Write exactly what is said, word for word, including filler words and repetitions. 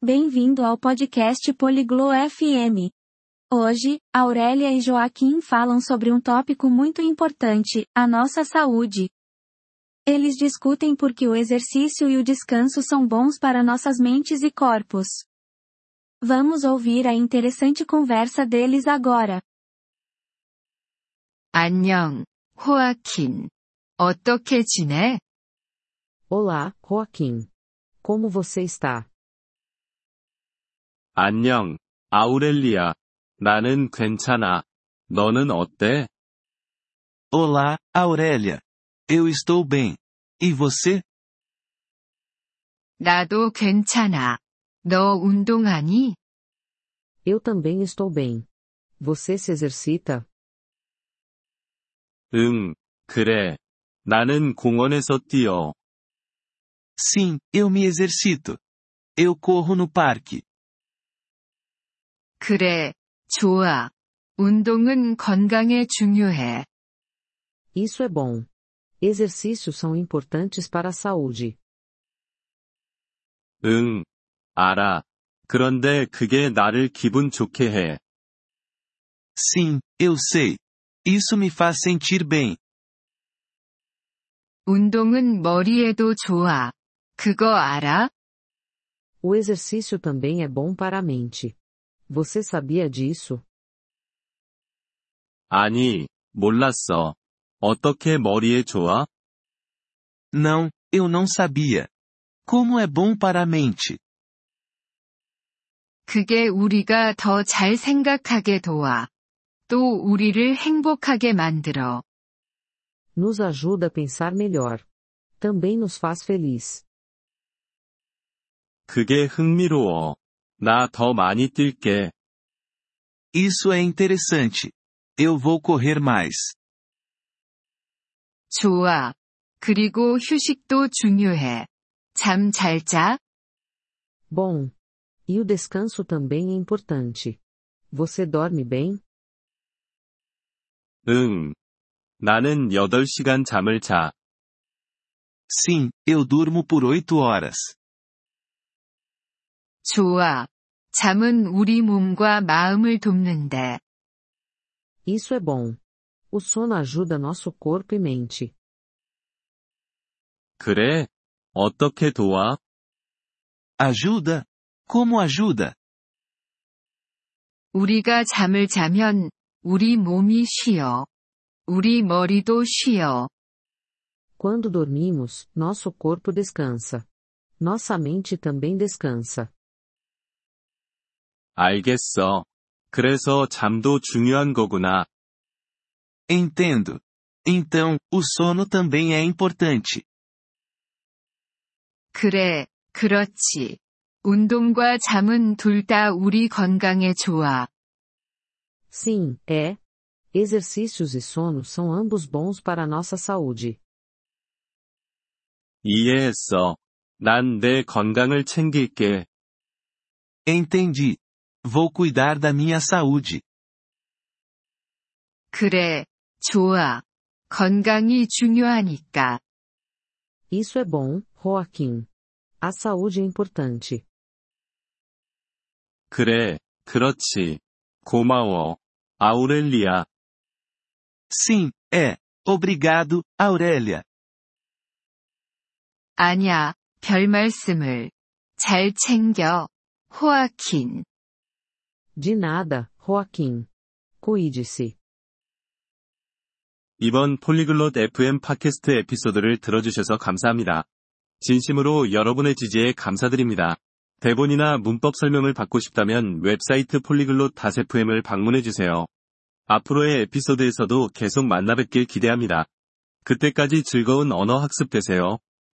Bem-vindo ao podcast Poliglo F M. Hoje, Aurélia e Joaquim falam sobre um tópico muito importante, a nossa saúde. Eles discutem por que o exercício e o descanso são bons para nossas mentes e corpos. Vamos ouvir a interessante conversa deles agora. 안녕, 호아킨. 어떻게 지내? Olá, Joaquim. Como você está? 안녕, 아우렐리아. 나는 괜찮아. 너는 어때? Olá, Aurélia. Eu estou bem. E você? 나도 괜찮아. 너 운동하니? Eu também estou bem. Você se exercita? 응, 그래. 나는 공원에서 뛰어. Sim, eu me exercito. Eu corro no parque. 그래, 좋아. 운동은 건강에 중요해. Isso é bom. Exercícios são importantes para a saúde. 응, 알아. 그런데 그게 나를 기분 좋게 해. Sim, eu sei. Isso me faz sentir bem. 운동은 머리에도 좋아. 그거 알아? O exercício também é bom para a mente. Você sabia disso? 아니, 몰랐어. 어떻게 머리에 좋아? Não, eu não sabia. Como é bom para a mente. 그게 우리가 더 잘 생각하게 도와. 또 우리를 행복하게 만들어. Nos ajuda a pensar melhor. Também nos faz feliz. 그게 흥미로워. 나 더 많이 뛸게. Isso é interessante. Eu vou correr mais. 좋아. 그리고 휴식도 중요해. 잠 잘 자? Bom. E o descanso também é importante. Você dorme bem? 응. 나는 여덟 시간 잠을 자. Sim, eu durmo por oito horas. 좋아. 잠은 우리 몸과 마음을 돕는데. Isso é bom. O sono ajuda nosso corpo e mente. 그래? 어떻게 도와? Ajuda? Como ajuda? 우리가 잠을 자면 우리 몸이 쉬어. 우리 머리도 쉬어. Quando dormimos, nosso corpo descansa. Nossa mente também descansa. 알겠어. 그래서 잠도 중요한 거구나. Entendo. Então, o sono também é importante. 그래, 그렇지. 운동과 잠은 둘 다 우리 건강에 좋아. Sim, é. Exercícios e sono são ambos bons para a nossa saúde. 이해했어. 난 내 건강을 챙길게. Entendi. Vou cuidar da minha saúde. 그래, 좋아. 건강이 중요하니까. Isso é bom, Joaquim. A saúde é importante. 그래, 그렇지. 고마워. 아우렐리아. Sim, é. Obrigado, Aurélia. 아냐, 별 말씀을. 잘 챙겨. 호아킨. De nada, Joaquim. Cuide-se. 이번 폴리글롯 에프엠 팟캐스트 에피소드를 들어주셔서 감사합니다. 진심으로 여러분의 지지에 감사드립니다. 대본이나 문법 설명을 받고 싶다면 웹사이트 폴리글롯 에프엠을 방문해주세요. 앞으로의 에피소드에서도 계속 만나뵙길 기대합니다. 그때까지 즐거운 언어 학습 되세요.